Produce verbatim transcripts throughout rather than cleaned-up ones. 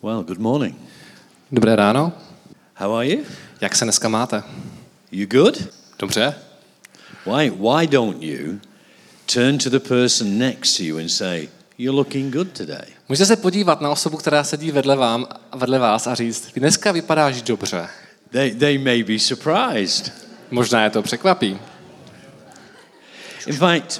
Well, good morning. Dobré ráno. How are you? Jak se dneska máte? You good? Dobře. Why why don't you turn to the person next to you and say, "You're looking good today"? Můžete se podívat na osobu, která sedí vedle, vám, vedle vás a říct, ty dneska vypadáš dobře. They they may be surprised. Možná je to překvapí. In fact,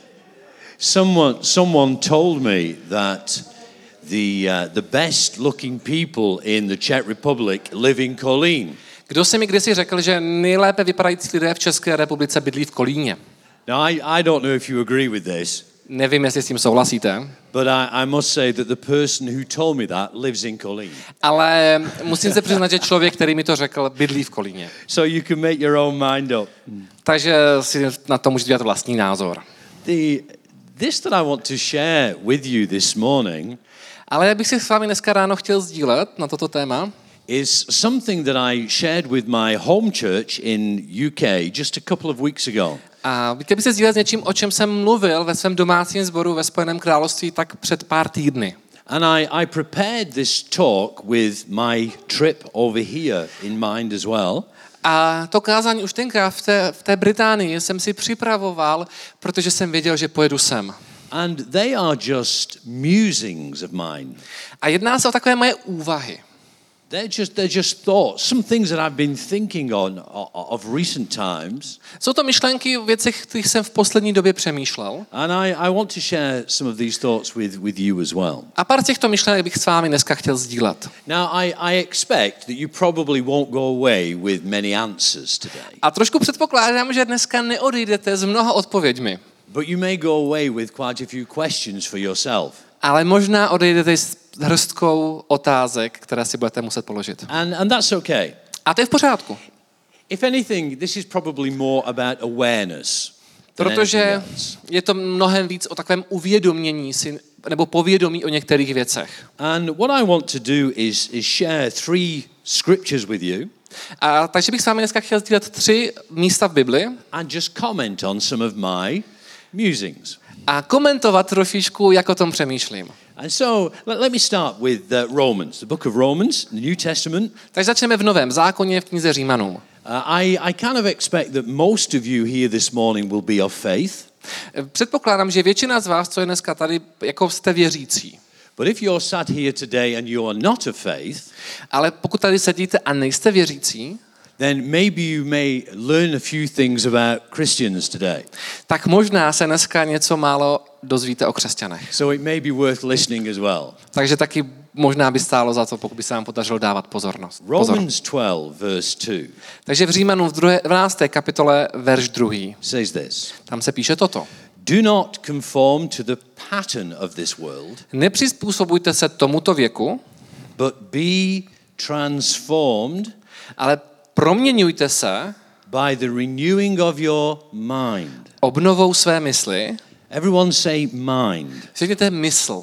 someone someone told me that the uh, the best looking people in the Czech Republic live in Kolín. Kdo se mi kdysi řekl, že nejlépe vypadající lidé v České republice bydlí v Kolíně? Now I, I don't know if you agree with this. Nevím, jestli s tím souhlasíte. But I, I must say that the person who told me that lives in Kolín. Ale musím se přiznat, že člověk, který mi to řekl, bydlí v Kolíně. So you can make your own mind up. Takže si na to můžete dělat vlastní názor. The this that I want to share with you this morning Ale já bych si s vámi dneska ráno chtěl sdílet na toto téma. is something that I shared with my home church in U K just a couple of weeks ago. A chtěl bych se sdílet s něčím, o čem jsem mluvil ve svém domácím sboru ve Spojeném království tak před pár týdny. And I, I prepared this talk with my trip over here in mind as well. A to kázání už tenkrát v té, v té Británii jsem si připravoval, protože jsem věděl, že pojedu sem. And they are just musings of mine. A jedná se o takové moje úvahy. They're just, they're just thoughts, some things that I've been thinking on of recent times. Jsou to myšlenky o věcech, kterých jsem v poslední době přemýšlel. And I, I want to share some of these thoughts with, with you as well. A pár těchto myšlenek bych s vámi dneska chtěl sdílet. Now, I, I expect that you probably won't go away with many answers today. A trošku předpokládám, že dneska neodejdete s mnoha odpověďmi. But you may go away with quite a few questions for yourself. Ale možná odejdete s hrstkou otázek, které si budete muset položit. And, and that's okay. A to je v pořádku. If anything, this is probably more about awareness than Protože anything else. je to mnohem víc o takovém uvědomění si, nebo povědomí o některých věcech. And what I want to do is, is share three scriptures with you. A takže bych s vámi dneska chtěl sdílet tři místa v Bibli And just comment on some of my musings. a komentovat trošičku, jak o tom přemýšlím. And so let, let me start with uh, Romans, the book of Romans, the New Testament. Takže začneme v Novém zákoně v knize Římanům. Uh, I, I kind of expect that most of you here this morning will be of faith. Předpokládám, že většina z vás, co je dneska tady, jako jste věřící. But if you're sat here today and you are not of faith, Ale pokud tady sedíte a nejste věřící, then maybe you may learn a few things about Christians today. tak možná se dneska něco málo dozvíte o křesťanech. So it may be worth listening as well. Takže taky možná by stálo za to, pokud by se vám podařilo dávat pozornost. Pozor. Romans twelve verse two Takže v Římanům v dvanácté kapitole verš druhý. says this. Tam se píše toto. Do not conform to the pattern of this world, Nepřizpůsobujte se tomuto věku, but be transformed ale proměňujte se by the renewing of your mind. obnovou své mysli. Everyone say mind. Řekněte mysl.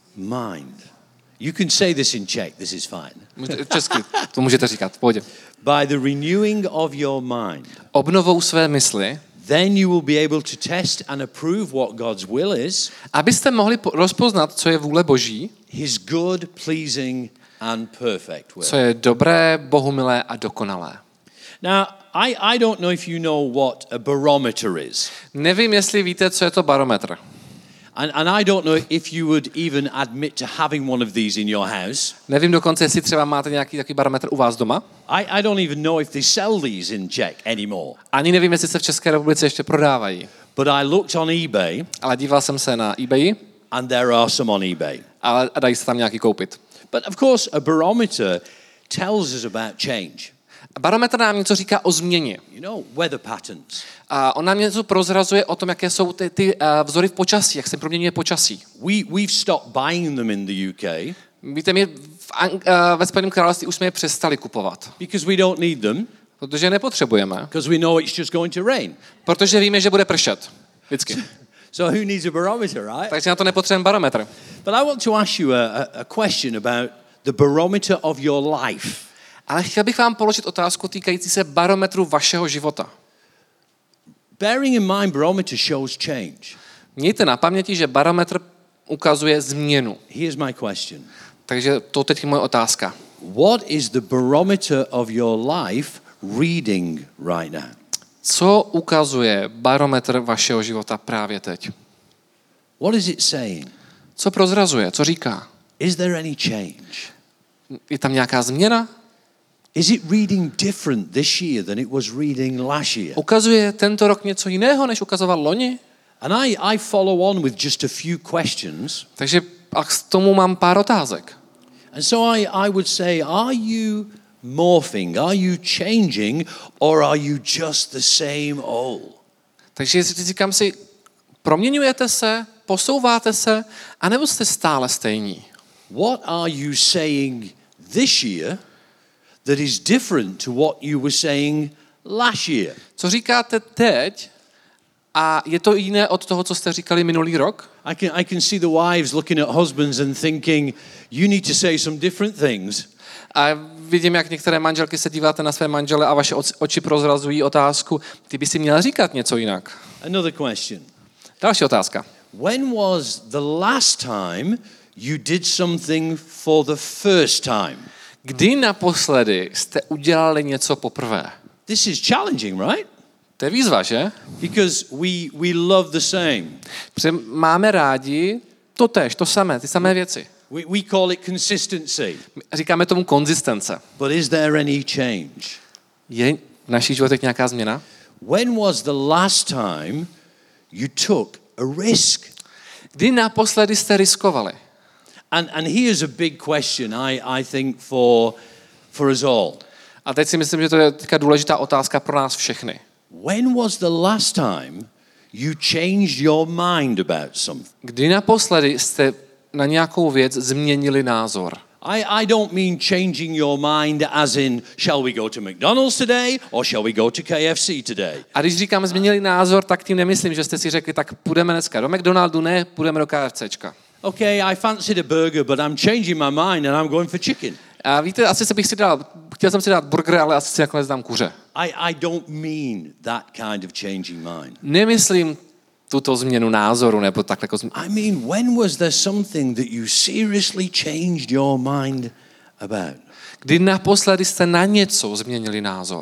Mind. You can say this in Czech, this is fine. Můžete- Česky to můžete říkat, v pohodě. By the renewing of your mind. Obnovou své mysli, Then you will be able to test and approve what God's will is, abyste mohli po- rozpoznat, co je vůle Boží, his good, pleasing and perfect will. co je dobré, bohumilé a dokonalé. Now, I, I don't know if you know what a barometer is. Nevím, jestli víte, co je to barometr. And, and I don't know if you would even admit to having one of these in your house. Nevím dokonce, jestli třeba máte nějaký takový barometr u vás doma. I, I don't even know if they sell these in Czech anymore. Ani nevím, jestli se v České republice ještě prodávají. But I looked on eBay, Ale díval jsem se na eBay, and there are some on eBay. ale a dají se tam nějaký koupit. But of course, a barometer tells us about change. Barometr nám něco říká o změně. You know, weather patterns. A on nám něco prozrazuje o tom, jaké jsou ty, ty uh, vzory v počasí, jak se proměňuje počasí. We, we've stopped buying them in the U K Víte, my v Ang- uh, ve Spojeném království už jsme je přestali kupovat, because we don't need them, protože je nepotřebujeme, because we know it's just going to rain. protože víme, že bude pršet. Vždycky. So who needs a barometer, right? Takže na to nepotřebujeme barometr. But I want to ask you a, a, a question about the barometer of your life. Ale chtěl bych vám položit otázku týkající se barometru vašeho života. Bearing in mind barometer shows change. Mějte na paměti, že barometr ukazuje změnu. Here's my question. Takže to teď je moje otázka. What is the barometer of your life reading right now? Co ukazuje barometr vašeho života právě teď? What is it saying? Co prozrazuje? Co říká? Is there any change? Je tam nějaká změna? Is it reading different this year than it was reading last year? Ukazuje tento rok něco jiného, než ukazoval loni? And I, I follow on with just a few questions. Takže a k tomu mám pár otázek. And so I, I would say, are you morphing? Are you changing? Or are you just the same old? Takže říkám si, proměňujete se, posouváte se, anebo jste stále stejní? What are you saying this year that is different to what you were saying last year? Co říkáte teď a je to jiné od toho, co jste říkali minulý rok? I can, I can see the wives looking at husbands and thinking, you need to say some different things. A vidím, jak některé manželky se díváte na své manžele a vaše oči prozrazují otázku, ty by si měla říkat něco jinak. Another question. Další otázka. When was the last time you did something for the first time? Kdy naposledy jste udělali něco poprvé? This is challenging, right? To je výzva, že? Because we, we love the same. Protože máme rádi to též, to samé, ty samé věci. We, we call it consistency. Říkáme tomu konzistence. But is there any change? Je v našich životech nějaká změna? When was the last time you took a risk? Kdy naposledy jste riskovali? And, and here's a big question, I, I think, for, for us all. A teď si myslím, že to je teďka důležitá otázka pro nás všechny. When was the last time you changed your mind about something? Kdy naposledy jste na nějakou věc změnili názor? I, I don't mean changing your mind as in, shall we go to McDonald's today or shall we go to K F C today? A když říkám změnili názor, tak tím nemyslím, že jste si řekli, tak půjdeme dneska do McDonaldu, ne, půjdeme do KFCčka. Okay, I fancied a burger, but I'm changing my mind and I'm going for chicken. A víte, asi se bych si dal, chtěl jsem si dát burger, ale asi si nakonec dám kuře. I, I don't mean that kind of changing mind. Nemyslím tuto změnu názoru, nebo tak jako změnu. I mean, when was there something that you seriously changed your mind about? Kdy naposledy jste na něco změnili názor?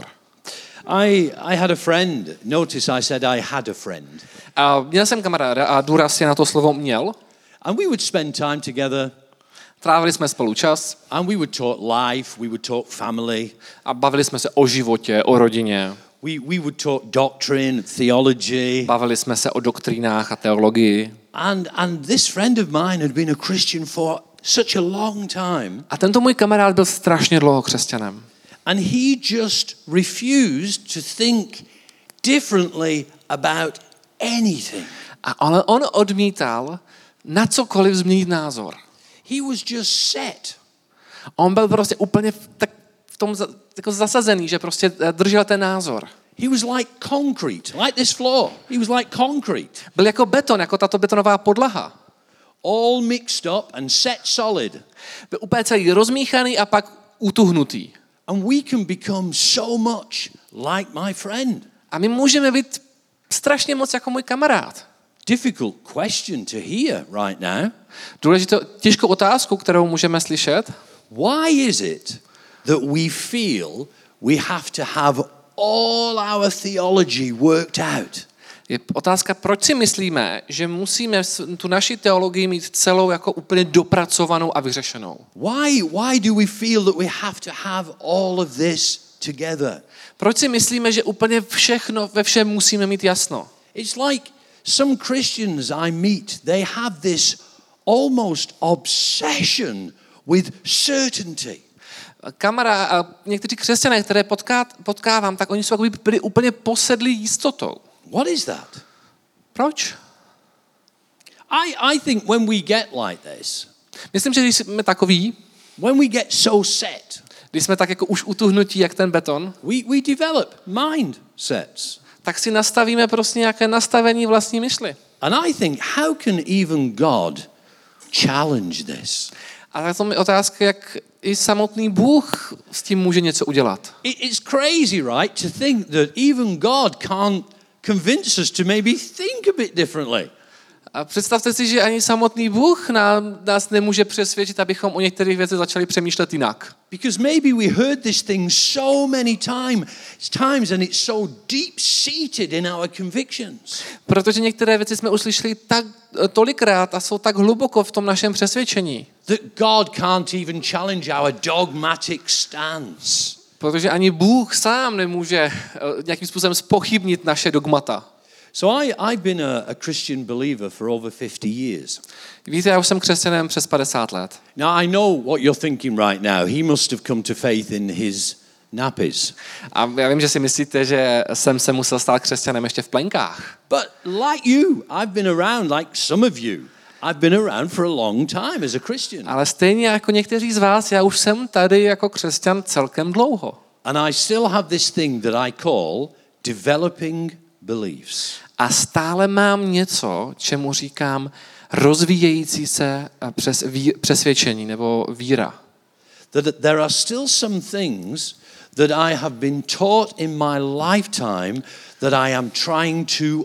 I, I had a friend. Notice I said I had a friend. A měl jsem kamaráda a důraz je na to slovo měl. And we would spend time together. Trávili jsme spolu čas. And we would talk life, we would talk family. A bavili jsme se o životě, o rodině. We, we would talk doctrine, theology. Bavili jsme se o doktrínách a teologii. And, and this friend of mine had been a Christian for such a long time. A tento můj kamarád byl strašně dlouho křesťanem. And he just refused to think differently about anything. A ale on odmítal na cokoliv změnit názor. He was just set. On byl prostě úplně v, tak, v tom za, jako zasazený, že prostě držel ten názor. He was like concrete, like this floor. He was like concrete. Byl jako beton, jako tato betonová podlaha. All mixed up and set solid. Byl úplně celý rozmíchaný a pak utuhnutý. And we can become so much like my friend. A my můžeme být strašně moc jako můj kamarád. Difficult question to hear right now. Důležitou, těžkou otázku, kterou můžeme slyšet. Why is it that we feel we have to have all our theology worked out? Je otázka, proč si myslíme, že musíme tu naši teologii mít celou jako úplně dopracovanou a vyřešenou? Why, why do we feel that we have to have all of this together? Proč si myslíme, že úplně všechno, ve všem musíme mít jasno? It's like some Christians I meet, they have this almost obsession with certainty. Kamera a někteří křesťané, které potká, potkávám, tak oni jsou jako byli úplně posedlí jistotou. What is that? Proč? I, I think when we get like this, Myslím, že když jsme takový, when we get so set, když jsme tak jako už utuhnutí, jak ten beton, we, we develop mindsets. tak si nastavíme prostě nějaké nastavení vlastní myšli. And I think, how can even God challenge this? A tak to mi otázka, jak i samotný Bůh s tím může něco udělat. It, it's crazy, right, to think that even God can't convince us to maybe think a bit differently. A představte si, že ani samotný Bůh nám, nás nemůže přesvědčit, abychom o některých věcech začali přemýšlet jinak. Because maybe we heard this thing so many time, times and it's so deep-seated in our convictions. Protože některé věci jsme uslyšeli tak tolikrát a jsou tak hluboko v tom našem přesvědčení. That God can't even challenge our dogmatic stance. Protože ani Bůh sám nemůže nějakým způsobem zpochybnit naše dogmata. So I, I've been a, a Christian believer for over fifty years. Víte, já už jsem křesťanem přes padesát let. Now I know what you're thinking right now. He must have come to faith in his nappies. A já vím, že si myslíte, že jsem se musel stát křesťanem ještě v plenkách. But like you, I've been around, like some of you, I've been around for a long time as a Christian. Ale stejně jako někteří z vás, já už jsem tady jako křesťan celkem dlouho. And I still have this thing that I call developing beliefs. A stále mám něco, čemu říkám rozvíjející se přes ví, přesvědčení nebo víra. That there are still some things that I have been taught in my lifetime that I am trying to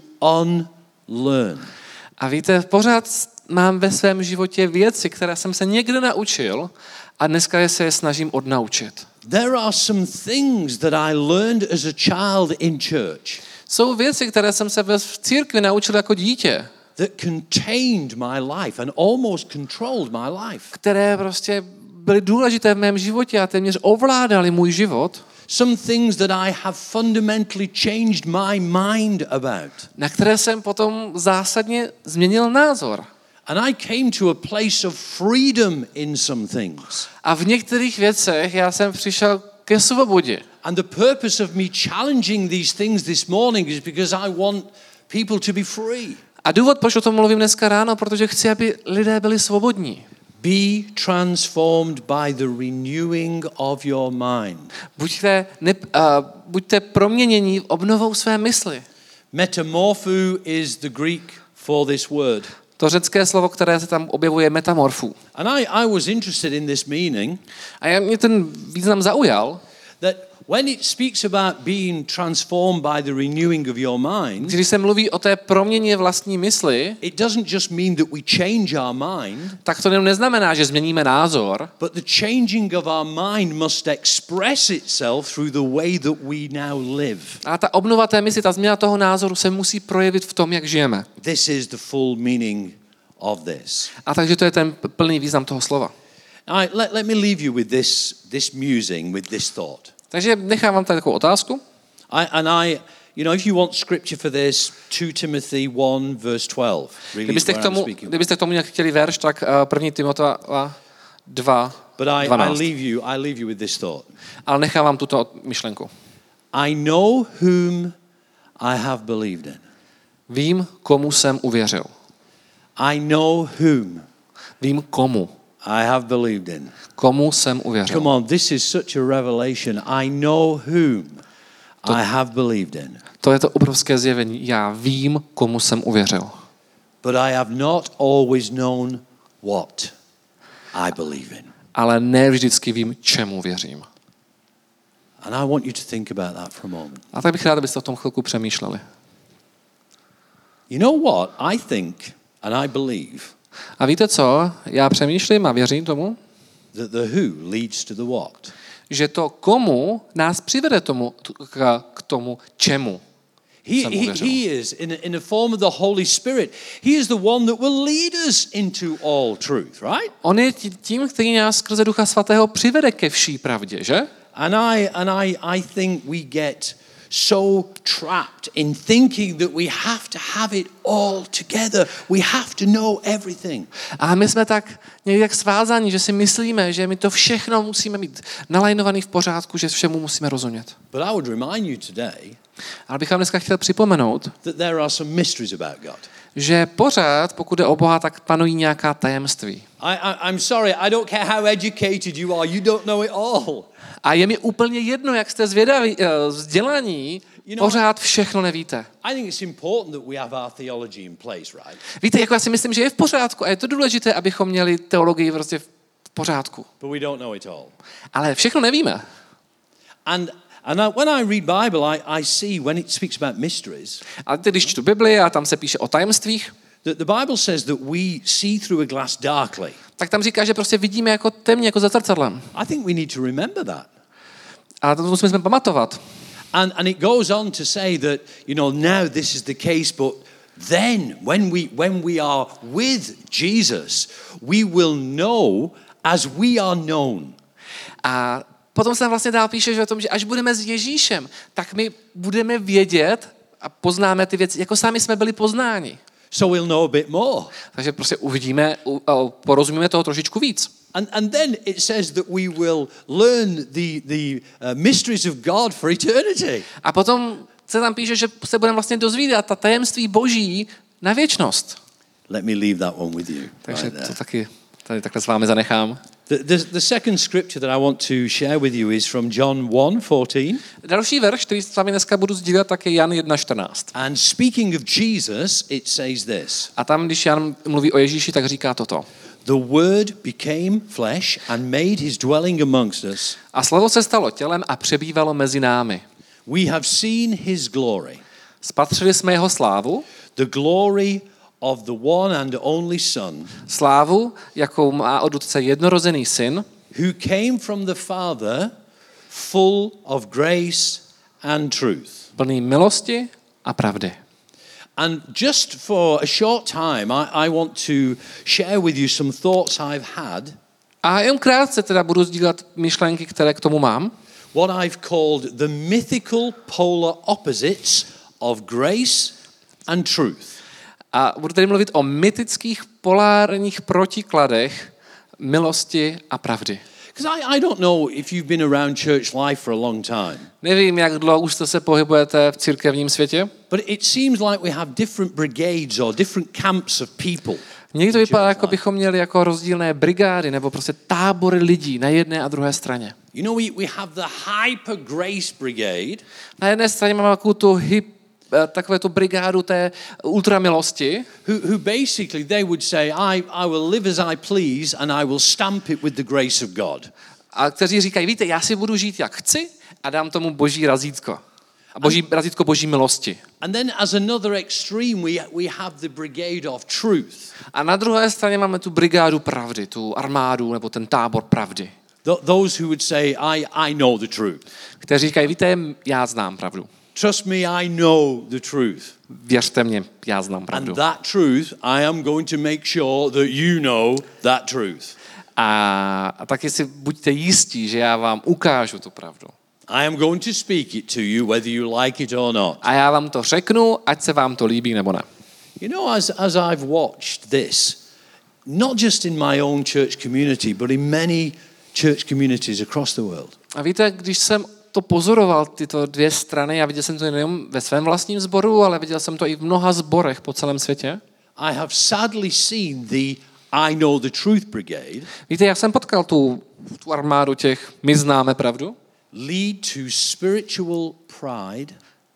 unlearn. A víte, pořád mám ve svém životě věci, které jsem se někde naučil a dneska se je snažím odnaučit. There are some things that I learned as a child in church. Jsou věci, které jsem se v církvi naučil jako dítě. That contained my life and almost controlled my life. Které prostě byly důležité v mém životě a téměř ovládaly můj život. Some things that I have fundamentally changed my mind about. Na které jsem potom zásadně změnil názor. And I came to a place of freedom in some things. A v některých věcech já jsem přišel ke svobodě. And the purpose of me challenging these things this morning is because I want people to be free. A důvod, proč o tom mluvím dneska ráno, protože chci, aby lidé byli svobodní. Be transformed by the renewing of your mind. Buďte, ne, uh, buďte proměnění obnovou své mysli. Metamorpho is the Greek for this word. To řecké slovo, které se tam objevuje, metamorfu. And I, I was interested in this meaning. A já, mě ten význam zaujal. That when it speaks about being transformed by the renewing of your mind, Když se mluví o té proměně vlastní mysli, it doesn't just mean that we change our mind, tak to jenom neznamená, že změníme názor, but the changing of our mind must express itself through the way that we now live. a ta obnova té mysli, ta změna toho názoru se musí projevit v tom, jak žijeme. This is the full meaning of this. A takže to je ten plný význam toho slova. All right, let, let me leave you with this, this musing, with this thought. Takže nechám vám tady takovou otázku. I, and I, you know, if you want scripture for this, Second Timothy one verse twelve. Really Kdybyste k tomu, kdybyste k tomu nějak chtěli verš, tak první Timoteva dva, But I, I dvanáct. leave you, I leave you with this thought. Ale nechám vám tuto myšlenku. I know whom I have believed in. Vím, komu jsem uvěřil. I know whom Vím, komu. I have believed in. Komu jsem uvěřil. Come on, this is such a revelation. I know whom To- I have believed in. To je to obrovské zjevení. Já vím, komu jsem uvěřil. But I have not always known what I believe in. Ale ne vždycky vím, čemu věřím. And I want you to think about that for a moment. A tak bych rád, abyste o tom chvilku přemýšleli. You know what? I think and I believe A víte co? Já přemýšlím a věřím tomu, that the who leads to the what. že to komu nás přivede tomu, k, k tomu čemu. He, jsem he, uvěřil. he is, in, in the form of the Holy Spirit, he is the one that will lead us into all truth, right? On je tím, který nás skrze Ducha Svatého přivede ke vší pravdě, že? And I, and I, I think we get so trapped in thinking that we have to have it all together. We have to know everything. A my jsme tak nějak svázáni, že si myslíme, že my to všechno musíme mít nalajnovaný v pořádku, že všemu musíme rozumět. But I would remind you today Ale bych vám dneska chtěl připomenout, that there are some mysteries about God. že pořád, pokud jde o Boha, tak panují nějaká tajemství. I, I, I'm sorry, I don't care how educated you are, you don't know it all. A je mi úplně jedno, jak jste zvědaví, vzdělaní, You know, pořád všechno nevíte. I think it's important that we have our theology in place, right? Víte, jako já si myslím, že je v pořádku a je to důležité, abychom měli teologii prostě v pořádku. But we don't know it all. Ale všechno nevíme. And and I, when I read Bible, I, I see when it speaks about mysteries, A teď, když čtu Bibli a tam se píše o tajemstvích, The, the Bible says that we see through a glass darkly. Tak tam říká, že prostě vidíme jako temně, jako za zrcadlem. I think we need to remember that. A to musíme pamatovat. And, and it goes on to say that, you know, now this is the case, but then when we, when we are with Jesus, we will know as we are known. A potom se tam vlastně dál píše, že o tom, že až budeme s Ježíšem, tak my budeme vědět a poznáme ty věci, jako sami jsme byli poznáni. So we'll know a bit more. Takže prostě uvidíme, porozumíme toho trošičku víc. And, and then it says that we will learn the, the uh, mysteries of God for eternity. A potom se tam píše, že se budeme vlastně dozvídat ta tajemství Boží na věčnost. Let me leave that one with you. Takže right to taky tady takhle s vámi zanechám. The, the, the second scripture that I want to share with you is from John one fourteen. Další verš, který s vámi dneska budu sdílet, tak je Jan jedna čtrnáct. And speaking of Jesus, it says this. A tam, když Jan mluví o Ježíši, tak říká toto. The word became flesh and made his dwelling amongst us. A slovo se stalo tělem a přebývalo mezi námi. We have seen his glory. Spatřili jsme jeho slávu. The glory of the one and only Son. Slávu, jakou má od Otce jednorozený syn. Who came from the Father full of grace and truth. Plný milosti a pravdy. And just for a short time, I, I want to share with you some thoughts I've had. A jen krátce teda budu sdílet myšlenky, které k tomu mám. What I've called the mythical polar opposites of grace and truth. A budu tady mluvit o mytických polárních protikladech milosti a pravdy. Because I, I don't know if you've been around church life for a long time. Nevím, jak dlouho už jste se pohybujete v církevním světě. But it seems like we have different brigades or different camps of people. Někdy to vypadá, jako bychom měli jako rozdílné brigády nebo prostě tábory lidí na jedné a druhé straně. You know, we, we have the hyper grace brigade. Na jedné straně máme takovou tu hyp, takové tu brigádu té ultramilosti. Who, who basically they would say, I, I will live as I please and I will stamp it with the grace of God. A kteří říkají, víte, já si budu žít jak chci a dám tomu boží razítko. A boží, razítko boží milosti. And then as another extreme we, we have the brigade of truth. A na druhé straně máme tu brigádu pravdy, tu armádu nebo ten tábor pravdy. Th- those who would say, I, I know the truth. Kteří říkají, víte, já znám pravdu. Trust me, I know the truth. Věřte mě, já znám pravdu. And that truth, I am going to make sure that you know that truth. A, a taky si buďte jistí, že já vám ukážu tu pravdu. I am going to speak it to you whether you like it or not. A já vám to řeknu, ať se vám to líbí nebo ne. You know, as, as I've watched this, not just in my own church community, but in many church communities across the world. A víte, když jsem to pozoroval, tyto dvě strany, a viděl jsem to nejen ve svém vlastním sboru, ale viděl jsem to i v mnoha sborech po celém světě. I have sadly seen the I know the truth brigade. Víte, já jsem potkal tu, tu armádu těch my známe pravdu. Lead to spiritual pride.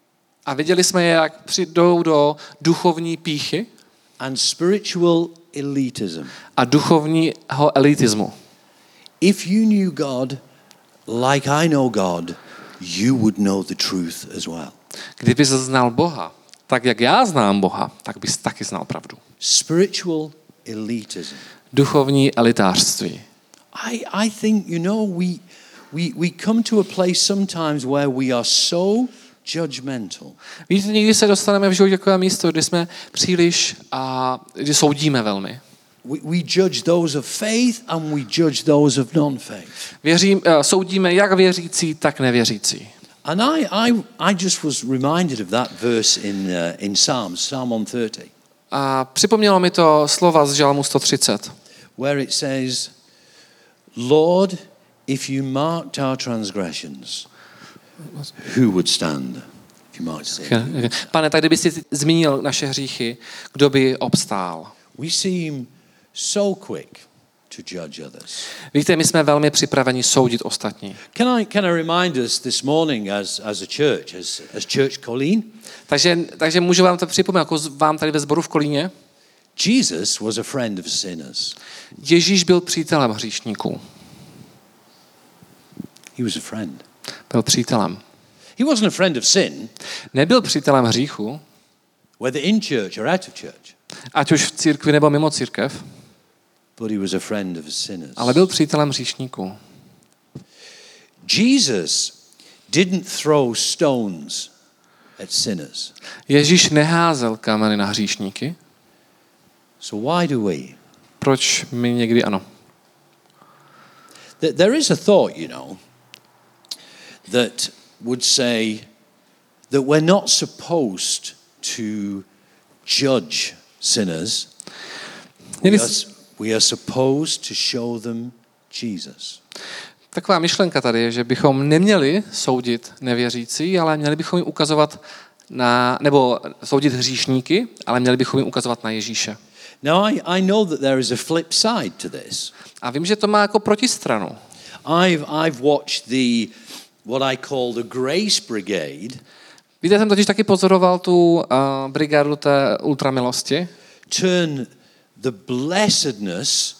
A viděli jsme je, jak přijdou do duchovní pýchy. And spiritual elitism. A duchovního elitismu. If you knew God like I know God, you would know the truth as well. Kdybys znal Boha, tak jak já znám Boha, tak bys taky znal pravdu. Spiritual elitism. Duchovní elitářství. I, I think, you know, we, we, we come to a place sometimes where we are so judgmental. Víte, někdy se dostaneme v životě takové místo, kdy jsme příliš a kdy soudíme velmi. We, we judge those of faith and we judge those of non-faith. Věřím, uh, soudíme jak věřící, tak nevěřící. And I, I, I just was reminded of that verse in, uh, in Psalms, Psalm one thirty. A připomnělo mi to slova z Žalmu sto třicet. Where it says, Lord, if you marked our transgressions, who would stand? If you marked sin. Pane, tak kdyby jsi zmínil naše hříchy, kdo by obstál? We seem so quick to judge others. Víte, my jsme velmi připraveni soudit ostatní. Can I, can I remind us this morning as, as a church, as, as Church Colleen? Takže, takže můžu vám to připomenout, jako vám tady ve sboru v Kolíně. Jesus was a friend of sinners. Ježíš byl přítelem hříšníků. He was a friend. Byl přítelem. He wasn't a friend of sin, Nebyl přítelem hříchu, whether in church or out of church. Ať už v církvi nebo mimo církev. But he was a friend of sinners. Ale byl přítelem hříšníků. Jesus didn't throw stones at sinners. Ježíš neházel kameny na hříšníky. So why do we? Proč my někdy ano? There is a thought, you know, that would say that we're not supposed to judge sinners. We are, we are supposed to show them Jesus. Taková myšlenka tady je, že bychom neměli soudit nevěřící, ale měli bychom jim ukazovat na, nebo soudit hříšníky, ale měli bychom jim ukazovat na Ježíše. Now I, I know that there is a flip side to this. A vím, že to má jako protistranu. I've I've watched the what I call the Grace Brigade. Víte, jsem totiž taky pozoroval tu uh, brigádu té ultramilosti. Turn the blessedness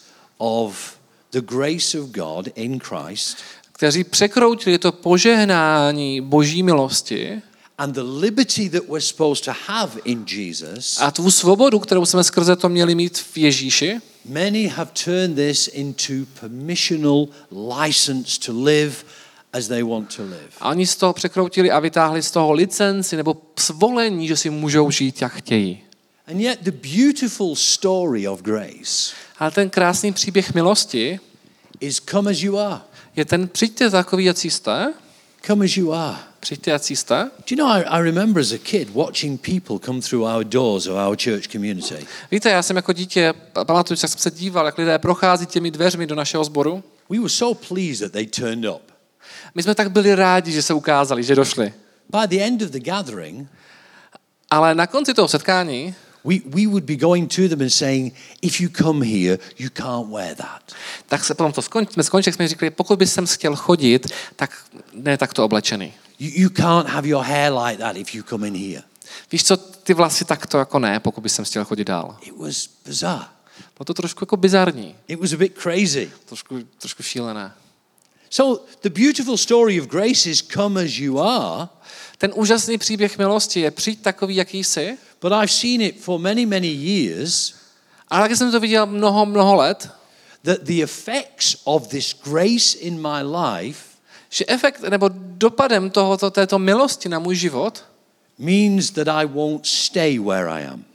of the grace of God in Christ, kteří překroutili to požehnání Boží milosti and the liberty that we're supposed to have in Jesus. A tu svobodu, kterou jsme skrze to měli mít v Ježíši. Many have turned this into permissional license to live as they want to live. A oni z toho překroutili a vytáhli z toho licenci nebo svolení, že si můžou žít, jak chtějí. And yet the beautiful story of grace, ale ten krásný příběh milosti is come as you are. Je ten přijďte takový, jací jste. Come as you are. Přijďte, jací jste. Do you know, I, I remember as a kid watching people come through our doors of our church community. Víte, já jsem jako dítě, pamatuju, jak jsem se díval, jak lidé prochází těmi dveřmi do našeho sboru. We were so pleased that they turned up. My jsme tak byli rádi, že se ukázali, že došli. By the end of the gathering, ale na konci toho setkání we, we would be going to them and saying, if you come here, you can't wear that. Tak se potom to skončili, jsme skončili, jsme říkali, pokud bys sem chtěl chodit, tak ne takto oblečený. You, you can't have your hair like that if you come in here. Víš co, ty vlasy takto jako ne, pokud bys sem chtěl chodit dál. It was bizarre. Bylo to trošku jako bizarní. It was a bit crazy. Trošku, trošku šílené. So the beautiful story of grace is come as you are. Ten úžasný příběh milosti je přijď takový, jaký jsi. But I've seen it for many, many years. Ale taky jsem to viděl mnoho, mnoho let. That the effects of this grace in my life, že efekt nebo dopadem tohoto, této milosti na můj život means that I won't stay where I am.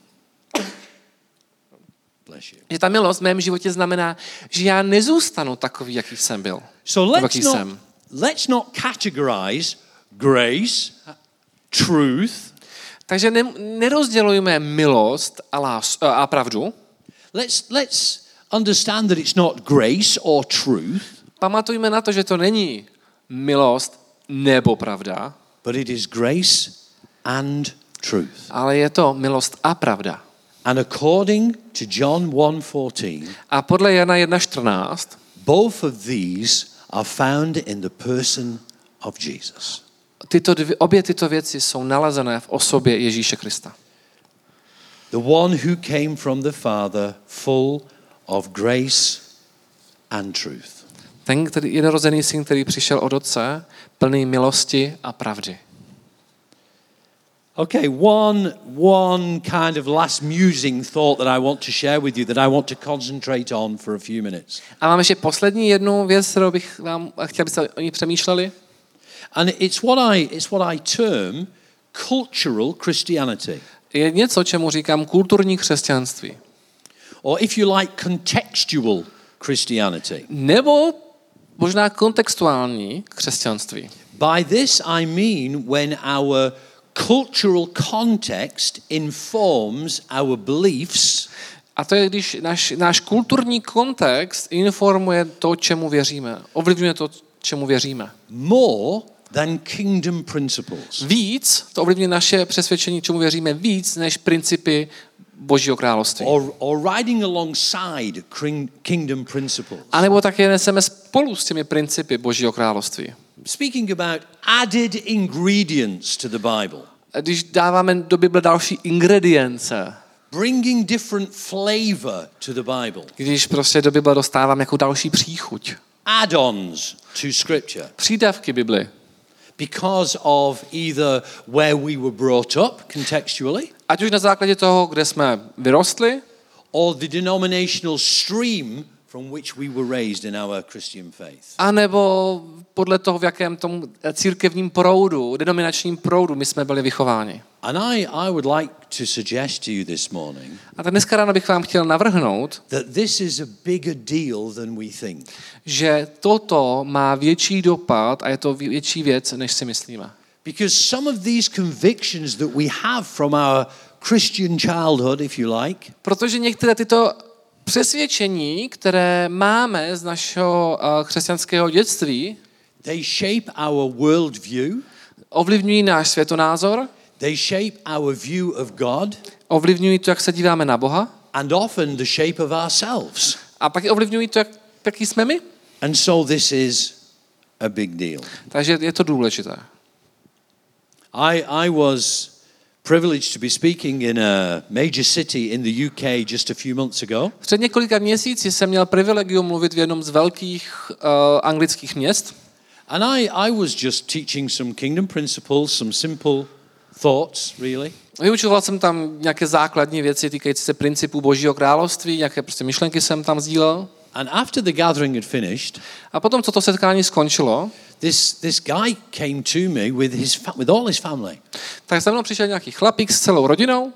Bless you. Že ta milost v mém životě znamená, že já nezůstanu takový, jaký jsem byl. So let's not, let's not categorize grace, truth. Takže ne, nerozdělujeme milost a, lás, a pravdu. Let's, let's understand that it's not grace or truth. Pamatujme na to, že to není milost nebo pravda. But it is grace and truth. Ale je to milost a pravda. And according to John one fourteen, a podle Jana jedna čtrnáct, both of these are found in the person of Jesus. Tyto dvě, obě tyto věci jsou nalezené v osobě Ježíše Krista. The one who came from the Father, full of grace and truth. Ten, který jednorozený syn, který přišel od Otce, plný milosti a pravdy. Okay, one one kind of last musing thought that I want to share with you, that I want to concentrate on for a few minutes. A mám ještě poslední jednu věc, kterou bych vám chtěl, abyste o ní přemýšleli. And it's what I it's what I term cultural Christianity. Je něco, čemu říkám kulturní křesťanství. Or if you like, contextual Christianity. Nebo možná kontextuální křesťanství. By this I mean when our cultural context informs our beliefs. A to je, když náš, náš kulturní kontext informuje to, čemu věříme. Ovlivňuje to, čemu věříme. More than kingdom principles. Víc, to ovlivňuje naše přesvědčení, čemu věříme, víc než principy Božího království. Or, or riding alongside kingdom principles. A nebo také neseme spolu s těmi principy Božího království. Speaking about added ingredients to the Bible. Když dáváme do Bible další ingredience. Bringing different flavor to the Bible. Když prostě do Bible dostáváme jako další příchuť. Add-ons to scripture. Přídavky Bibli. because of either where we were brought up contextually, ať už na základě toho, kde jsme vyrostli, or the denominational stream from which we were raised in our Christian faith. a nebo podle toho, v jakém tom církevním proudu, denominačním proudu my jsme byli vychováni. And I, I would like to suggest to you this morning A tak dneska ráno bych vám chtěl navrhnout, that this is a bigger deal than we think. že toto má větší dopad a je to větší věc, než si myslíme. Because some of these convictions that we have from our Christian childhood, if you like, Protože některé tyto přesvědčení, které máme z našeho uh, křesťanského dětství, they shape our worldview, ovlivňují náš světonázor, they shape our view of God, ovlivňují to, jak se díváme na Boha, and often the shape of ourselves. a pak i ovlivňují to, jak, jaký jsme my. And so this is a big deal. Takže je to důležité. I, I was privileged to be speaking in a major city in the U K just a few months ago. Před několika měsíci jsem měl privilegium mluvit v jednom z velkých uh, anglických měst. And I, I was just teaching some kingdom principles, some simple thoughts, really. Vyučoval jsem tam nějaké základní věci týkající se principů Božího království, nějaké prostě myšlenky jsem tam sdílel. And after the gathering had finished, A potom, co to setkání skončilo, this, this guy came to me with, his fa- with all his family. tak za mnou přišel nějaký chlapík s celou rodinou.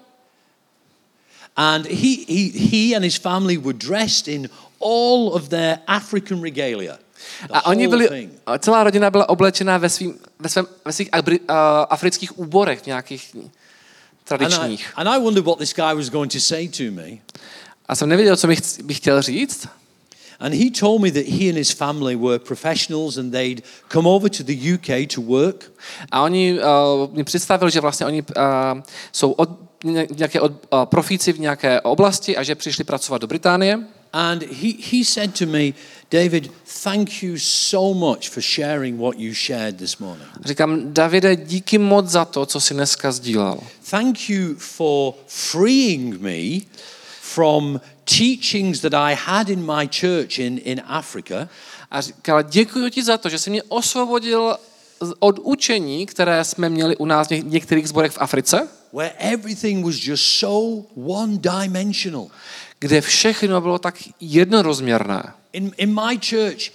And he, he, he and his family were dressed in all of their African regalia. The A oni whole byli, thing. a celá rodina byla oblečená ve, svým, ve, svém, ve svých abri, uh, afrických úborech nějakých And I, tradičních. and I wondered what this guy was going to say to me. A jsem nevěděl, co bych, bych chtěl říct. And he told me that he and his family were professionals and they'd come over to the U K to work. A oni uh, mi představili, že vlastně oni uh, jsou od, nějaké od, uh, profíci v nějaké oblasti a že přišli pracovat do Británie. And he, he said to me, David, thank you so much for sharing what you shared this morning. Říkám, Davide, díky moc za to, co jsi dneska sdílel. Thank you for freeing me from teachings that I had in my church in, in Africa. A říkal, děkuji ti za to, že jsi mě osvobodil od učení, které jsme měli u nás v některých sborech v Africe, Where everything was just so one-dimensional. kde všechno bylo tak jednorozměrné. In, in my church,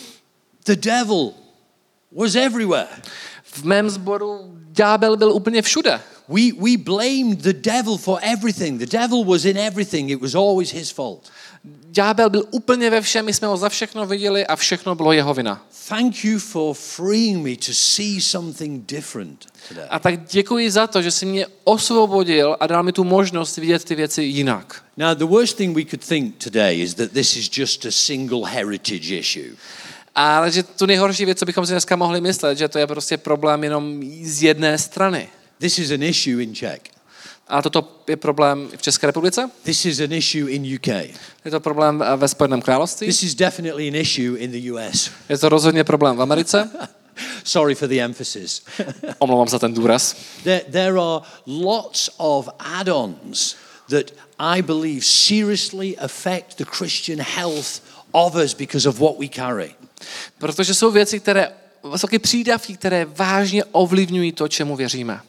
the devil was everywhere. V mém sboru ďábel byl úplně všude. We, we blamed the devil for everything. The devil was in everything. It was always his fault. Ďábel byl úplně ve všem, my jsme ho za všechno viděli a všechno bylo jeho vina. Thank you for freeing me to see something different today. A tak děkuji za to, že jsi mě osvobodil a dal mi tu možnost vidět ty věci jinak. Now, the worst thing we could think today is that this is just a single heritage issue. Ale že tu nejhorší věc, co bychom si dneska mohli myslet, že to je prostě problém jenom z jedné strany. This is an issue in Czech. A toto je problém v České republice? This is an issue in U K. Je to problém ve Spojeném království? This is definitely an issue in the U S. Je to rozhodně problém v Americe? Sorry for the emphasis. Omlouvám za ten důraz. There, there are lots of add-ons that I believe seriously affect the Christian health of us because of what we carry. Protože jsou věci, které, vysoké přídavky, které vážně ovlivňují to, čemu věříme.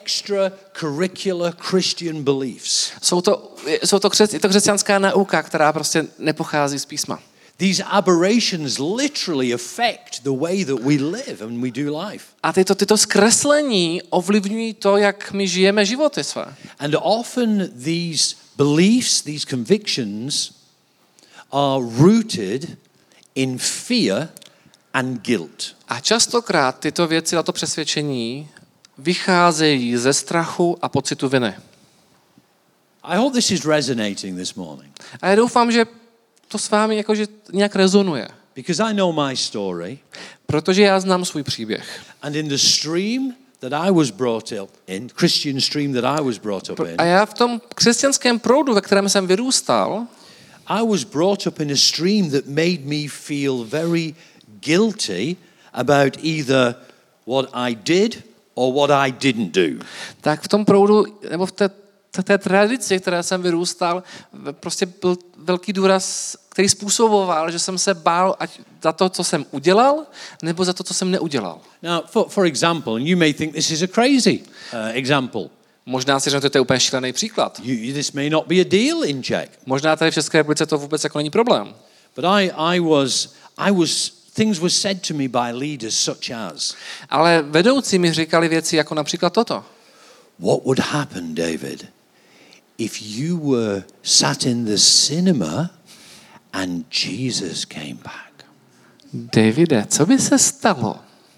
Extracurricular Christian beliefs. Jsou to, jsou to, křes, je to křesťanská nauka, která prostě nepochází z písma. These aberrations literally affect the way that we live and we do life. A tyto, tyto zkreslení ovlivňují to, jak my žijeme životy své. And often these beliefs, these convictions are rooted in fear and guilt. A častokrát tyto věci, tato přesvědčení vycházejí ze strachu a pocitu viny. I hope this is resonating this morning. A já doufám, že to s vámi jakože nějak rezonuje. Because I know my story. Protože já znám svůj příběh. And in the stream that I was brought up in, Christian stream that I was brought up in. A já v tom křesťanském proudu, ve kterém jsem vyrůstal, I was brought up in a stream that made me feel very guilty about either what I did or what I didn't do. tak v tom proudu, nebo v té té tradici, které jsem vyrůstal, prostě byl velký důraz, který způsoboval, že jsem se bál ať za to, co jsem udělal, nebo za to, co jsem neudělal. Now, for, for example, and you may think this is a crazy uh, example. Možná si řeknete, že to je úplně šílený příklad. You, this may not be a deal in Czech. Možná tady v České republice to vůbec jako není problém. But I, I was, I was, things were said to me by leaders such as. Ale vedoucí mi říkali věci jako například toto. What would happen, David, if you were sat in the cinema and Jesus came back? Davide, co by se stalo,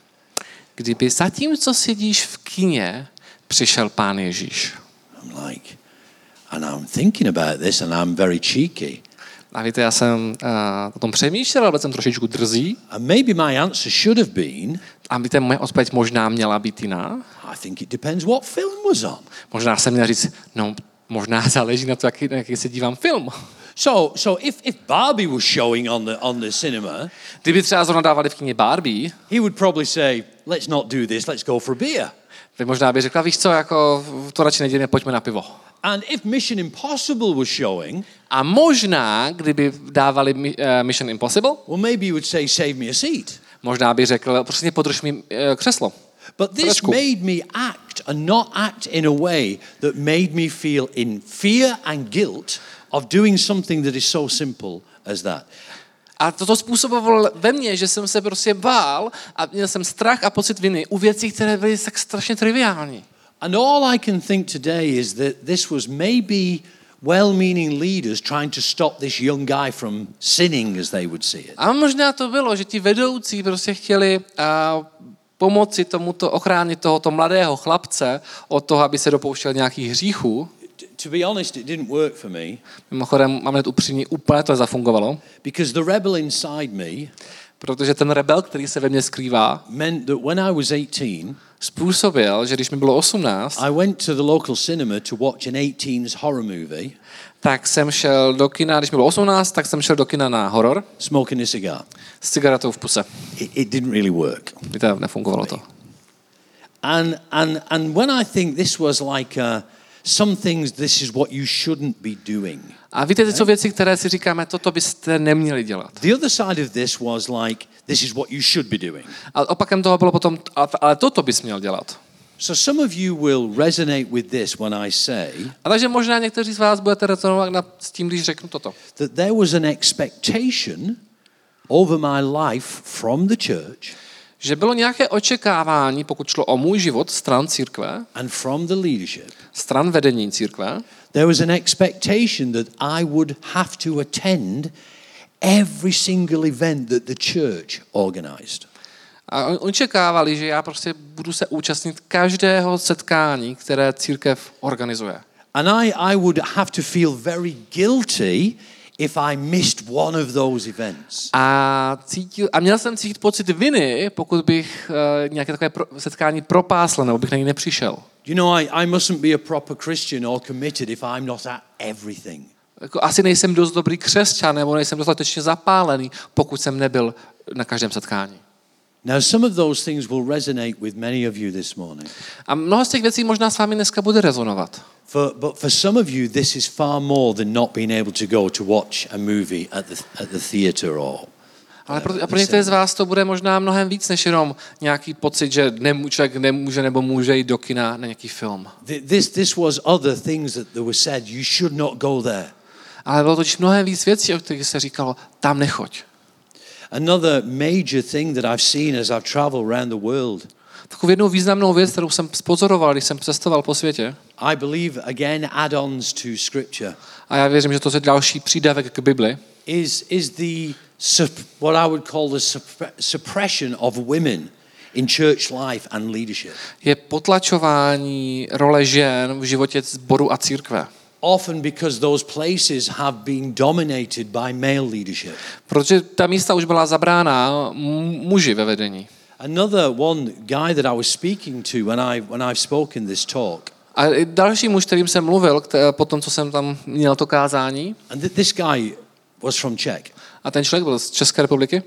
kdyby zatímco sedíš v kině, přišel Pán Ježíš? I'm like, and I'm thinking about this and I'm very cheeky. A víte, já jsem uh, o tom přemýšlel, ale jsem trošičku drzý. And maybe my answer should have been, a víte, moje odpověď možná měla být jiná. I think it depends what film was on. Možná jsem měl říct, no možná záleží na to, jaký, na jaký se dívám film. So, so if, if Barbie was showing on the, on the cinema, kdyby třeba zrovna dávali v kině Barbie, he would probably say, let's not do this, let's go for a beer. tak možná by řekla, víš co, jako to radši nedělíme, pojďme na pivo. And if Mission Impossible was showing, a možná, kdyby dávali uh, Mission Impossible, well, maybe he would say, save me a seat. Možná by řekl, prostě podrž mi uh, křeslo. But this made me act and not act in a way that made me feel in fear and guilt of doing something that is so simple as that. A toto způsobovalo ve mně, že jsem se prostě bál a měl jsem strach a pocit viny u věcí, které byly tak strašně triviální. And all I can think today is that this was maybe well-meaning leaders trying to stop this young guy from sinning, as they would see it. A možná to bylo, že ti vedoucí prostě chtěli uh, pomoci tomuto ochránit tohoto mladého chlapce od toho, aby se dopouštěl nějakých hříchů. To be honest, it didn't work for me. Mimochodem, mám hned upřímně, úplně to zafungovalo. Because the rebel inside me, protože ten rebel, který se ve mně skrývá, meant that when I was eighteen, způsobil, že když mi bylo osmnáct, I went to the local cinema to watch an eighteens horror movie. Tak jsem šel do kina, když mi bylo osmnáct, tak jsem šel do kina na horor. Smoking a cigar. S cigaretou v puse. It, it didn't really work. Víte, nefungovalo to. And and and when I think this was like a, some things, this is what you shouldn't be doing. A víte, ty jsou věci, které si říkáme, toto byste neměli dělat. The other side of this was like, this is what you should be doing. A opakem toho bylo potom, ale toto bys měl dělat. So some of you will resonate with this when I say, a takže možná někteří z vás budete rezonovat s tím, když řeknu toto. That there was an expectation over my life from the church, že bylo nějaké očekávání, pokud šlo o můj život, stran církve, and from the leadership, stran vedení církve, there was an expectation that I would have to attend every single event that the church organized. A očekávali, že já prostě budu se účastnit každého setkání, které církev organizuje. And I, I would have to feel very guilty if I missed one of those events. A, cítil, a měl jsem cítit pocit viny, pokud bych uh, nějaké takové pro, setkání propásl, nebo bych na ní nepřišel. You know, I, I mustn't be a proper Christian or committed if I'm not at everything. Jako asi nejsem dost dobrý křesťan, nebo nejsem dostatečně zapálený, pokud jsem nebyl na každém setkání. Now, some of those things will resonate with many of you this morning. A mnoho z těch věcí možná s vámi dneska bude rezonovat. For, but for some of you, this is far more than not being able to go to watch a movie at the, at the theater or... Ale pro, a pro některé z vás to bude možná mnohem víc, než jenom nějaký pocit, že nemů, člověk nemůže nebo může jít do kina na nějaký film. This, this was other things that were said, you should not go there. Ale bylo totiž mnohem víc věcí, o kterých se říkalo, tam nechoď. Another major thing that I've seen as I've traveled around the world. Takovou jednou významnou věc, kterou jsem spozoroval, když jsem cestoval po světě. I believe again add-ons to scripture. A já věřím, že to je další přídavek k Bibli. Is is the what I would call the suppression of women in church life and leadership. Je potlačování role žen v životě sboru a církve. Often because those places have been dominated by male leadership. Protože ta místa už byla zabrána muži ve vedení. Another one guy that I was speaking to when I when I've spoken this talk. A další muž, kterým jsem mluvil, po tom, co jsem tam měl to kázání. And this guy was from Czech. A ten člověk byl z České republiky.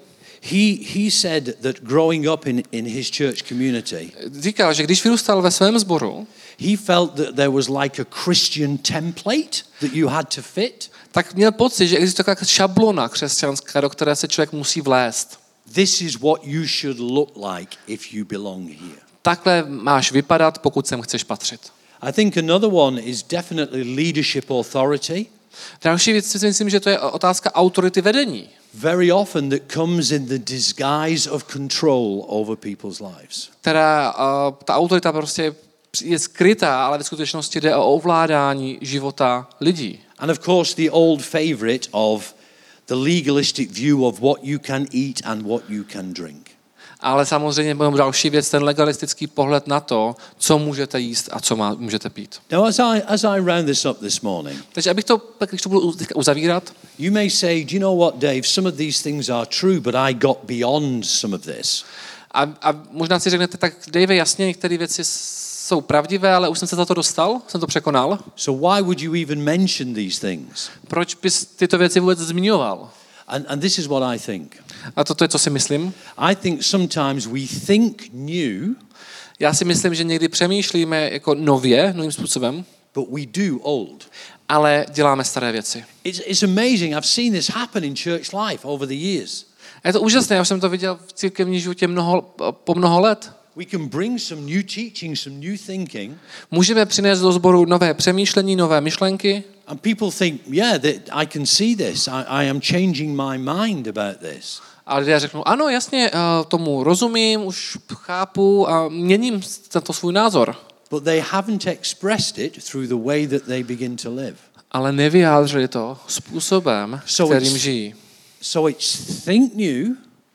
He, he said that growing up in, in his church community, Říkal, že když vyrůstal ve svém sboru, he felt that there was like a Christian template that you had to fit. tak měl pocit, že existuje taková šablona křesťanská, do které se člověk musí vlézt. This is what you should look like if you belong here. Takhle máš vypadat, pokud sem chceš patřit. I think another one is definitely leadership authority. Další věc si myslím, že to je otázka autority vedení. Very often that comes in the disguise of control over people's lives. Která, uh, ta autorita prostě je skrytá, ale ve skutečnosti jde o ovládání života lidí. And of course the old favorite of the legalistic view of what you can eat and what you can drink. Ale samozřejmě mám další věc, ten legalistický pohled na to, co můžete jíst a co má, můžete pít. Now as I, as I round this up this morning, Takže abych to, když to budu uzavírat, you may say, do you know what, Dave, some of these things are true, but I got beyond some of this. a, a možná si řeknete, tak Dave, jasně, některé věci jsou pravdivé, ale už jsem se za to dostal, jsem to překonal. So why would you even mention these things? Proč bys tyto věci vůbec zmiňoval? And, and this is what I think. A toto je, co si myslím. I think sometimes we think new, Já si myslím, že někdy přemýšlíme jako nově, novým způsobem, but we do old. ale děláme staré věci. It's, it's amazing. I've seen this happen in church life over the years. A je to úžasné, já jsem to viděl v církevním životě mnoho, po mnoho let. We can bring some new teaching, some new thinking. Můžeme přinést do sboru nové přemýšlení, nové myšlenky. And people think, yeah, that I can see this. I, I am changing my mind about this. A lidé řeknou, ano, jasně, tomu rozumím, už chápu a měním tento svůj názor. But they haven't expressed it through the way that they begin to live. Ale nevyjádřili to způsobem, So kterým it's- žijí. So it's think new.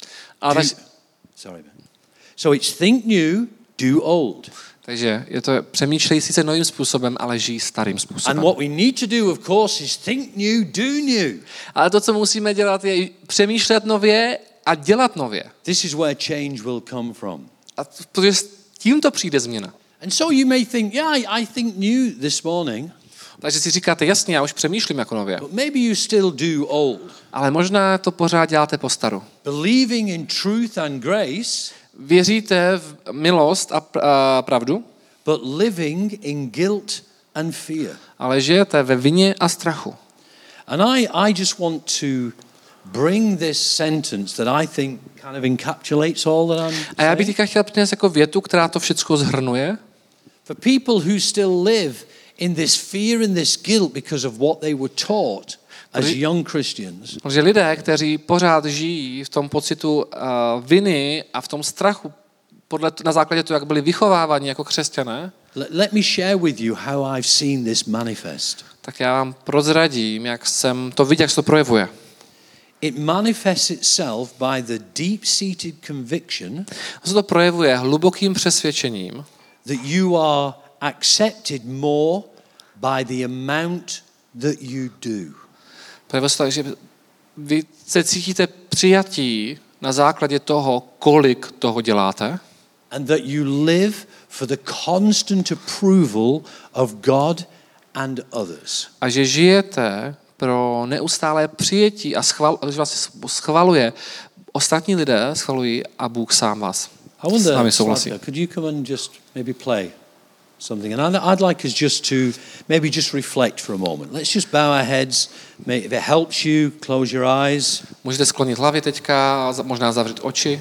A do, tak, sorry. man. So it's think new, do old. takže je to přemýšlejí sice novým způsobem, ale žijí starým And způsobem. what we need to do, of course, is think new, do new. Ale to, co musíme dělat, je přemýšlet nově a dělat nově. This is where change will come from. A protože s tímto přijde změna. And so you may think, yeah, I, I think new this morning, Takže si říkáte, jasně, já už přemýšlím jako nově. but maybe you still do old. Ale možná to pořád děláte po staru. Believing in truth and grace, Věříte v milost a, pr- a pravdu, but living in guilt and fear. ale žijete ve vině a strachu. And I, I just want to bring this sentence that I think kind of encapsulates all that I'm A já bych saying. teďka chtěl přinést jako větu, která to všechno zhrnuje. For people who still live in this fear and this guilt because of what they were taught as Protože- young Christians, Protože lidé, kteří pořád žijí v tom pocitu uh, viny a v tom strachu, podle, na základě toho, jak byli vychováváni jako křesťané, let, let me share with you how I've seen this manifest. tak já vám prozradím, jak jsem to viděl, jak se to projevuje. It manifests itself by the deep-seated conviction To se to projevuje hlubokým přesvědčením, that you are accepted more by the amount that you do. projevuje se to tak, že vy se cítíte přijatí na základě toho, kolik toho děláte, And that you live for the constant approval of God and others. a že žijete pro neustálé přijetí a schval, že vás schvaluje. Ostatní lidé schvalují a Bůh sám vás I wonder, s vámi souhlasí. Slavka, could you come and just maybe play something? And I'd, I'd like us just to maybe just reflect for a moment. Let's just bow our heads. May, if it helps you, close your eyes. Můžete sklonit hlavy teďka, a za- možná zavřít oči.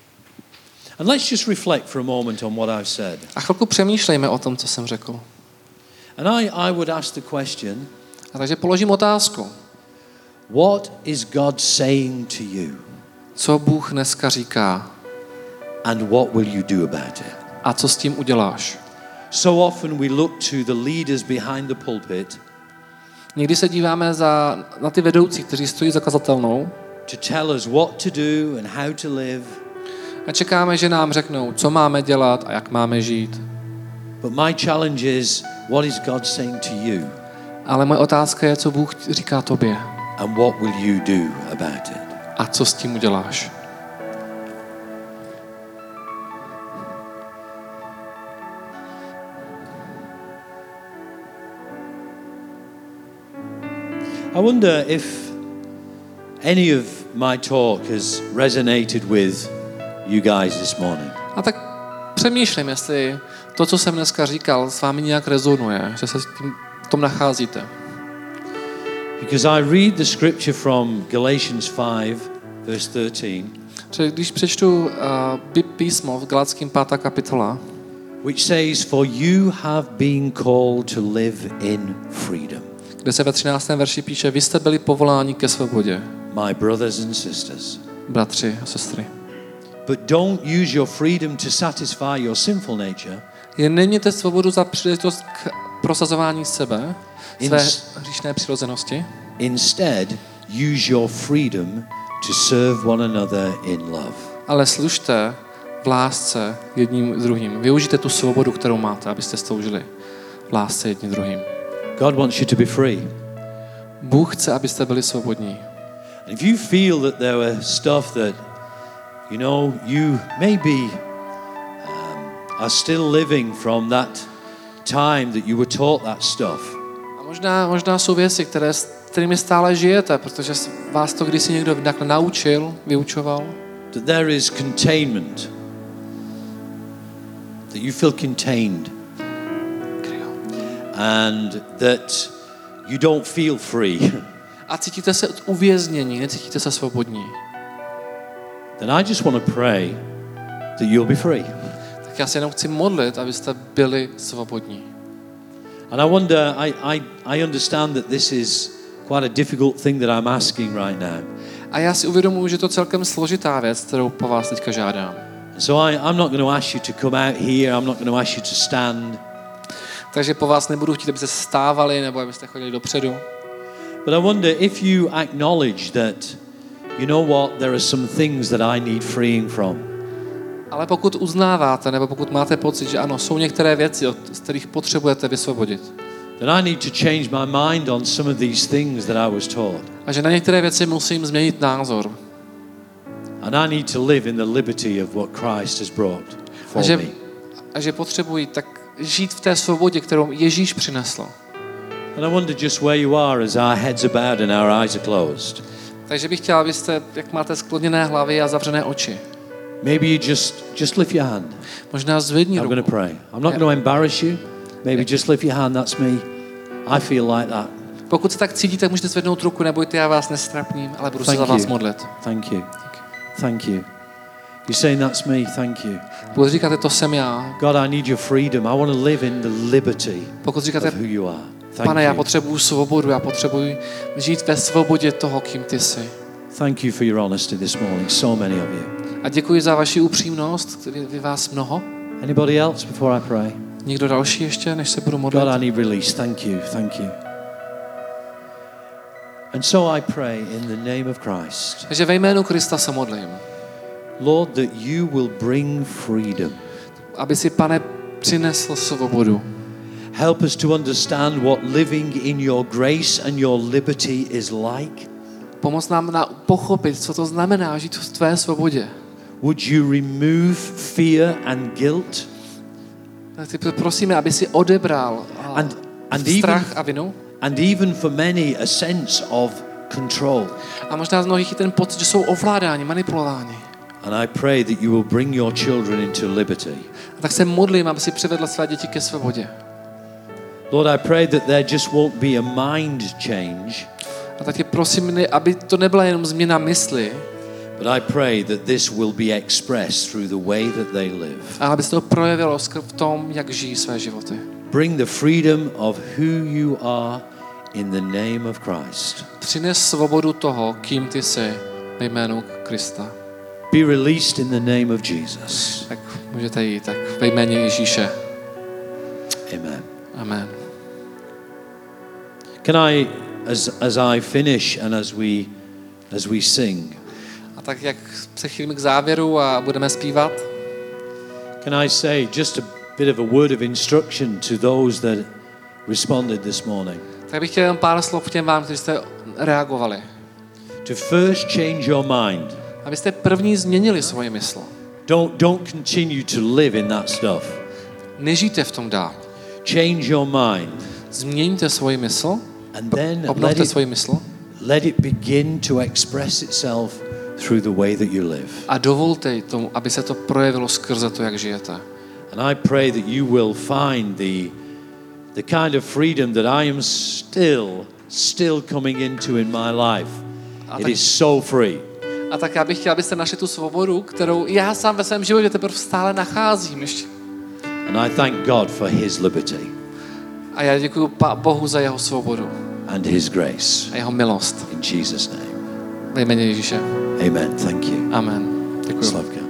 And let's just reflect for a moment on what I've said. A chvilku přemýšlejme o tom, co jsem řekl. And I, I would ask the question, A takže položím otázku. what is God saying to you? Co Bůh dneska říká And what will you do about it? a co s tím uděláš? So often we look to the leaders behind the pulpit Někdy se díváme za, na ty vedoucí, kteří stojí za kazatelnou to tell us what to do and how to live. a čekáme, že nám řeknou, co máme dělat a jak máme žít. But my challenge is, what is God saying to you? Ale moje otázka je, co Bůh říká tobě And what will you do about it? a co s tím uděláš. I wonder if any of my talk has resonated with you guys this morning. A tak přemýšlím, jestli to, co jsem dneska říkal, s vámi nějak rezonuje, že se s tím v tom nacházíte. Because I read the scripture from Galatians five, verse thirteen. Protože když přečtu uh, písmo v Galackým pátá kapitola, which says, for you have been called to live in freedom. Kde se ve třináctém verši píše, vy jste byli povoláni ke svobodě. My brothers and sisters. Bratři a sestry. But don't use your freedom to satisfy your sinful nature. Jen nemějte svobodu za příležitost k prosazování sebe, své hříšné přirozenosti. Instead, use your freedom to serve one another in love. Ale služte v lásce jedním druhým. Využijte tu svobodu, kterou máte, abyste sloužili v lásce jedním druhým. God wants you to be free. Bůh chce, abyste byli svobodní. And if you feel that there were stuff that, you know, you maybe um, are still living from that time that you were taught that stuff. A možná, možná jsou věci, které, s kterými stále žijete, protože vás to kdysi někdo takhle naučil, vyučoval. That there is containment. That you feel contained. And that you don't feel free. A cítíte se uvěznění, necítíte se svobodní. Then I just want to pray that you'll be free. Tak já se jenom chci modlit, abyste byli svobodní. And I wonder, I, I, I understand that this is quite a difficult thing that I'm asking right now. A já si uvědomuji, že to je celkem složitá věc, kterou po vás teďka žádám. So I, I'm not going to ask you to come out here. I'm not going to ask you to stand. Takže po vás nebudu chtít, abyste stávali nebo abyste chodili dopředu. But I wonder if you acknowledge that, you know what, there are some things that I need freeing from. Ale pokud uznáváte, nebo pokud máte pocit, že ano, jsou některé věci, z kterých potřebujete vysvobodit. Then I need to change my mind on some of these things that I was taught. A že na některé věci musím změnit názor. And I need to live in the liberty of what Christ has brought for A že, me. a že potřebuji tak žít v té svobodě, kterou Ježíš přinesl. And I wonder just where you are as our heads are bowed and our eyes are closed. Takže bych chtěl, abyste, jak máte skloněné hlavy a zavřené oči. Maybe you just just lift your hand. Možná zvedni I'm ruku. going to pray. I'm not going to embarrass you. Maybe just lift your hand. That's me. I feel like that. Pokud se tak cítíte, můžete zvednout ruku, nebojte, já vás nestrapním, ale budu se Thank za vás you. modlit. Thank you. Thank you. You're saying that's me. Thank you. Pokud říkáte, to jsem já. God, I need your freedom. I want to live in the liberty Pokud říkáte, of who you are. Thank Pane, já you. potřebuju svobodu, já potřebuji žít ve svobodě toho, kým ty jsi. Thank you for your honesty this morning. So many of you. A děkuji za vaši upřímnost, vy, vy vás mnoho. Anybody else before I pray? Někdo další ještě, než se budu modlit? God, I need release. Thank you. Thank you. And so I pray in the name of Christ. Takže ve jménu Krista se modlím. Lord, that you will bring freedom. Aby si, Pane, přinesl svobodu. Help us to understand what living in your grace and your liberty is like. Pomoz nám na pochopit, co to znamená žít v tvé svobodě. Would you remove fear and guilt? Ty prosíme, aby si odebral And, and strach even, a vinu. and even for many a sense of control. A možná z mnohých i ten pocit, že jsou ovládáni, manipulováni. And I pray that you will bring your children into liberty. A tak se modlím, aby si přivedl své děti ke svobodě. Lord, I pray that there just won't be a mind change. A tak tě prosím, aby to nebyla jenom změna mysli, But I pray that this will be expressed through the way that they live. ale aby se to projevilo v tom, jak žijí své životy. Bring the freedom of who you are in the name of Christ. Přines svobodu toho, kým ty jsi, ve jménu Krista. Be released in the name of Jesus. Tak můžete jít, tak ve jméně Ježíše. Amen. Amen. Can I, as as I finish and as we as we sing, A tak jak se chýlíme k závěru a budeme zpívat, can I say just a bit of a word of instruction to those that responded this morning? tak bych chtěl jen pár slov k těm vám, kteří jste reagovali. To first change your mind. Abyste první změnili svoje mysl. Don't don't continue to live in that stuff. Nežijte v tom dál. Change your mind. Změňte svoji mysl, And then let obnovte it, svoji mysl let it begin to express itself through the way that you live. A dovolte tomu, aby se to projevilo skrze to, jak žijete. And I pray that you will find the the kind of freedom that I am still still coming into in my life. A It tak, is so free. a tak já bych chtěl, abyste našli tu svobodu, kterou já sám ve svém životě teprve stále nacházím ještě. And I thank God for his liberty A já děkuji Bohu za jeho svobodu and his grace. a jeho milost. In Jesus' name. Ve jméně Ježíše. Amen. Thank you. Amen. Děkuji. Slavka.